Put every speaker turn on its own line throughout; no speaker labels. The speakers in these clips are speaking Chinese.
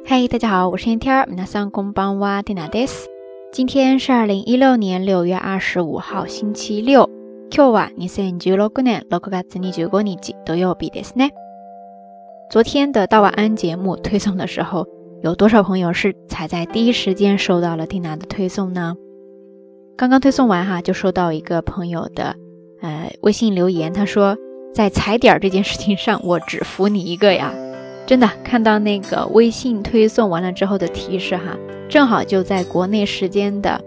嘿，大家好，我是天天，皆さんこんばんは、ティナです。今天是2016年6月25号星期六。今日は2016年6月25日土曜日ですね。昨天的到晚安节目推送的时候，有多少朋友是才在第一时间收到了 Tina 的推送呢？刚刚推送完就收到一个朋友的微信留言，他说在踩点这件事情上我只服你一个呀。真的看到那个微信推送完了之后的提示正好就在国内时间的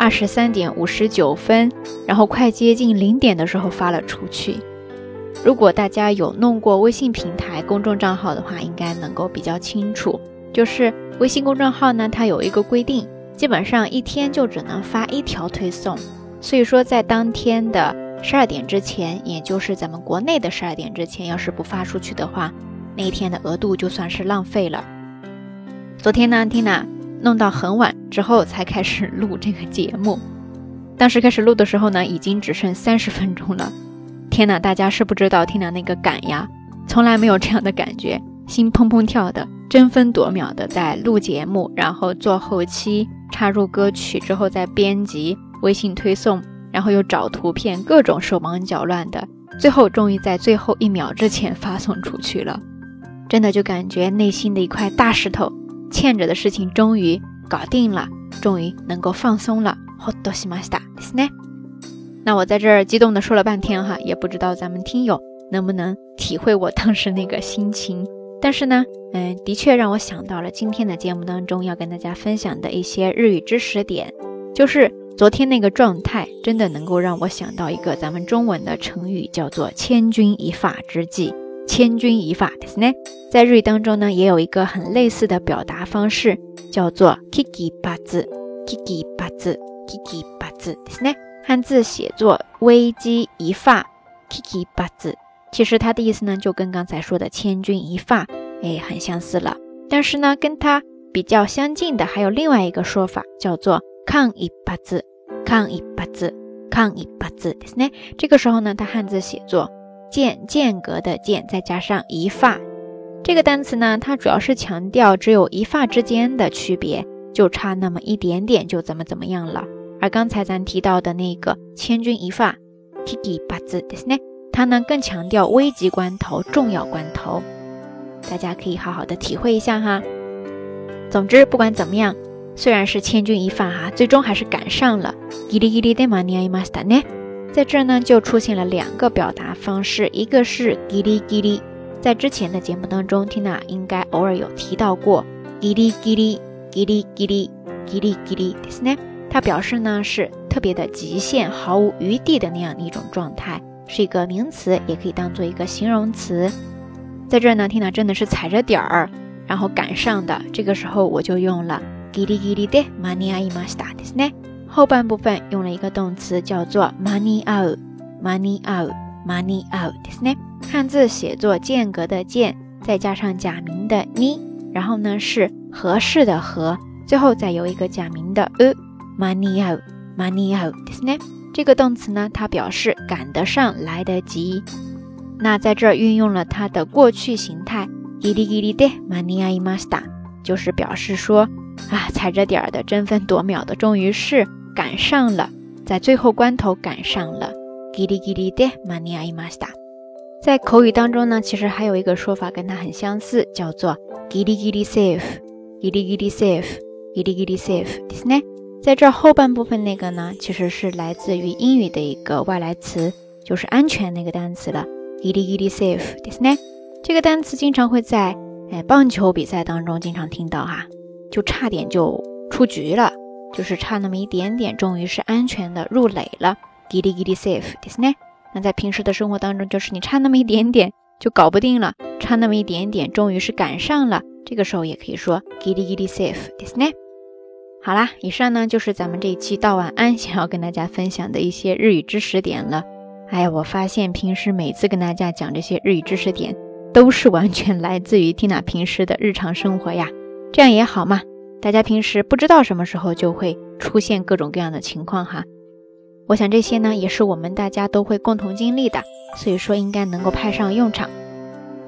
23点59分，然后快接近0点的时候发了出去。如果大家有弄过微信平台公众账号的话，应该能够比较清楚，就是微信公众号呢，它有一个规定，基本上一天就只能发一条推送，所以说在当天的12点之前，也就是咱们国内的12点之前，要是不发出去的话，那一天的额度就算是浪费了。昨天呢 Tina 弄到很晚之后才开始录这个节目，当时开始录的时候呢，已经只剩30分钟了。天哪，大家是不知道 Tina 那个赶呀，从来没有这样的感觉，心砰砰跳的，争分夺秒的在录节目，然后做后期，插入歌曲之后再编辑，微信推送，然后又找图片，各种手忙脚乱的，最后终于在最后1秒之前发送出去了。真的就感觉内心的一块大石头欠着的事情终于搞定了，终于能够放松了。ほっとしましたですね。那我在这儿激动的说了半天也不知道咱们听友能不能体会我当时那个心情。但是呢，的确让我想到了今天的节目当中要跟大家分享的一些日语知识点，就是昨天那个状态真的能够让我想到一个咱们中文的成语，叫做千钧一发之际。千钧一发ですね。在日语当中呢，也有一个很类似的表达方式，叫做危機一髪。危機一髪，危機一髪ですね。汉字写作危機一發，危機一髪。其實它的意思呢，就跟刚才說的千钧一發很相似了。但是呢，跟它比較相近的還有另外一個說法，叫做間一髪。間一髪，間一髪ですね。這個時候呢，它漢字寫作間隔的間再加上一發。這個單詞呢，它主要是強調只有一發之間的區別，就差那麼一點點就怎麼樣了。而剛才咱提到的那個千钧一發危機一髪ですね，它呢更強調危急關頭、重要關頭，大家可以好好的體會一下總之不管怎麼樣，雖然是千钧一發最終還是趕上了。ギリギリで間に合いましたね。在這呢就出現了2個表達方式，一個是ギリギリ，在之前的節目當中 Tina 應該偶爾有提到過ギリギリギリギリギリギリですね，它表示呢是特別的極限，毫無餘地的那樣一種狀態，是一個名詞，也可以當做一個形容詞。在這呢 Tina 真的是踩着點兒然後趕上的，這個時候我就用了ギリギリで間に合いましたですね。後半部分用了一個動詞叫做間に合う，間に合う，間に合うですね。漢字寫作間隔的間再加上假名的に，然後呢是合適的合，最後再有一個假名的間に合う，間に合うですね。這個動詞呢，它表示趕得上，來得及。那在這兒運用了它的過去形態ギリギリで間に合いました，就是表示說踩着點兒的，爭分奪秒的，終於是趕上了，在最後關頭趕上了。ギリギリで間に合いました。在口語當中呢，其實還有一個說法跟它很相似，叫做ギリギリセーフ，ギリギリセーフ，ギリギリセーフですね。在這後半部分那個呢，其實是來自於英語的一個外來詞，就是安全那個單詞了，ギリギリセーフですね。這個單詞經常會在棒球比賽當中經常聽到就差點就出局了，就是差那麼一點點，終於是安全的入壘了，ギリギリセーフですね。那在平時的生活當中，就是你差那麼一點點就搞不定了，差那麼一點點終於是趕上了，這個時候也可以說ギリギリセーフですね。好啦，以上呢就是咱们這一期到晚安想要跟大家分享的一些日語知識點了。我發現平時每次跟大家講這些日語知識點都是完全來自於 Tina 平時的日常生活呀，這樣也好嘛，大家平時不知道什麼時候就會出現各種各樣的情況我想這些呢也是我們大家都會共同經歷的，所以說應該能夠派上用場。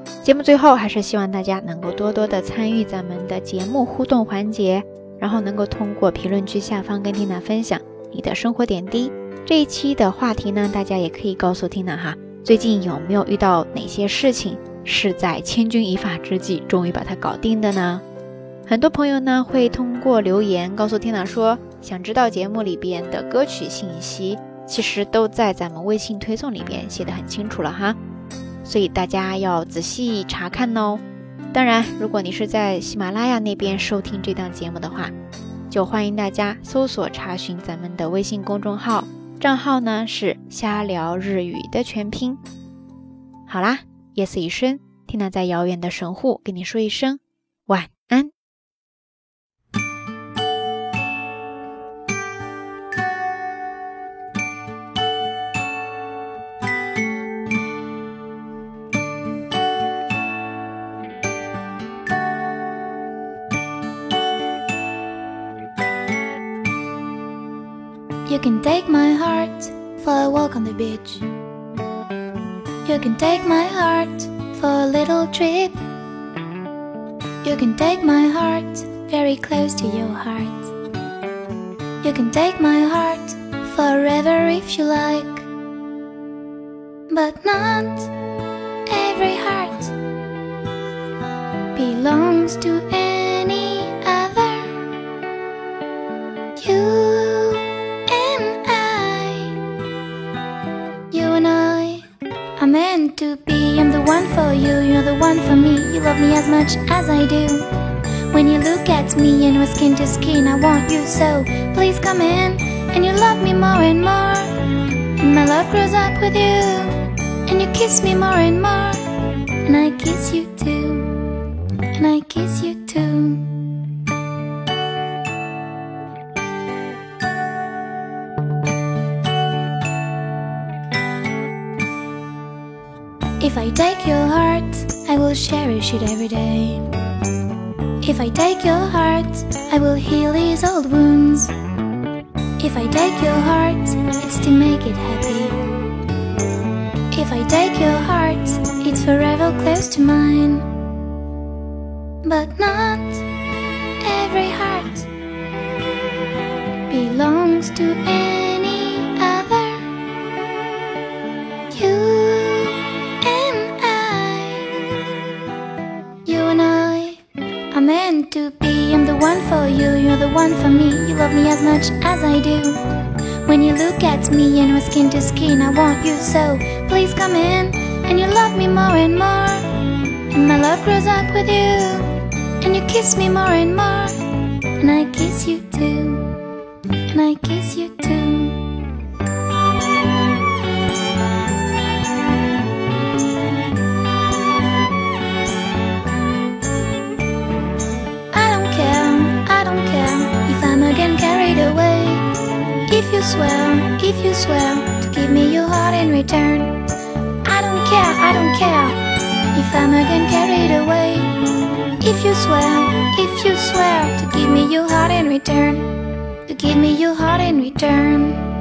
节目最后还是希望大家能够多多的参与咱们的节目互动环节，然后能够通过评论区下方跟 Tina 分享你的生活点滴。这一期的话题呢，大家也可以告诉 Tina 哈，最近有没有遇到哪些事情是在千钧一发之际终于把它搞定的呢？很多朋友呢会通过留言告诉 Tina 说，想知道节目里边的歌曲信息，其实都在咱们微信推送里边写得很清楚了哈，所以大家要仔细查看哦。当然，如果你是在喜马拉雅那边收听这档节目的话，就欢迎大家搜索查询咱们的微信公众号，账号呢是瞎聊日语的全拼。好啦，夜色已深，Tina在遥远的神户跟你说一声晚安。
You can take my heart for a walk on the beach. You can take my heart for a little trip. You can take my heart very close to your heart. You can take my heart forever if you like. But not every heart belongs to any other. You and I are meant to be. I'm the one for you, you're the one for me. You love me as much as I do. When you look at me and we're skin to skin, I want you so. Please come in, and you love me more and more. And my love grows up with you, and you kiss me more and more. And I kiss you too, and I kiss you too. If I take your heart, I will cherish it every day. If I take your heart, I will heal these old wounds. If I take your heart, it's to make it happy. If I take your heart, it's forever close to mine. But not every heart belongs to any other. You and I are meant to be. I'm the one for you, you're the one for me. You love me as much as I do. When you look at me and we're skin to skin, I want you so. Please come in, and you love me more and more. And my love grows up with you, and you kiss me more and more. And I kiss you too, and I kiss you too. Again carried away. If you swear to give me your heart in return, I don't care if I'm again carried away. If you swear to give me your heart in return, to give me your heart in return.